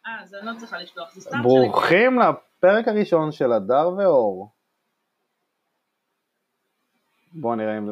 אז אני לא צריכה לשלוח, זה סתם ברוכים לפרק הראשון של הדר ואור. בואו נראה אם